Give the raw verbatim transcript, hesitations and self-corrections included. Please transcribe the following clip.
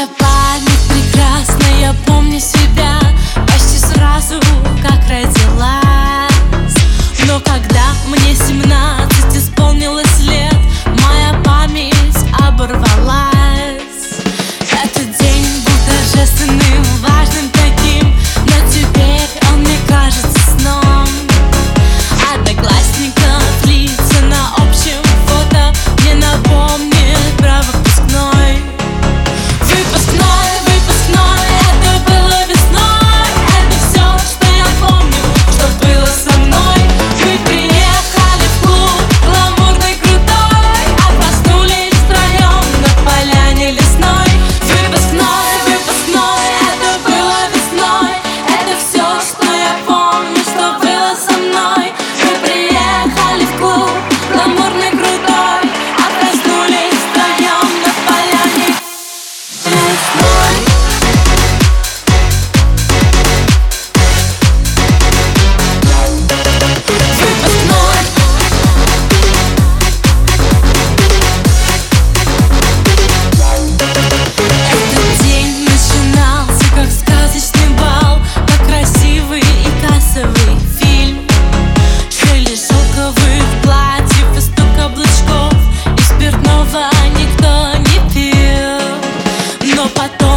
память прекрасна, я помню себя почти сразу, как родилась. Но когда мне семнадцать исполнилось лет, моя память оборвалась. Этот день был торжественным, важным таким, но теперь он мне кажется сном. Одноклассников лица на общем фото мне напомнит про выпускной. Выпускной, выпускной, это было весной. Это все, что я помню, что было со мной. Мы приехали в клуб гламурный, крутой, а проснулись втроем на поляне лесной. Выпускной, выпускной, это было весной. Это все, что я помню, что было со мной. Мы приехали в клуб гламурный, крутой, а проснулись втроем на поляне лесной. Этот день начинался как сказочный бал, как красивый и кассовый фильм. Шелест шелковых платьев и стук каблучков, и спиртного никто не пил. Но потом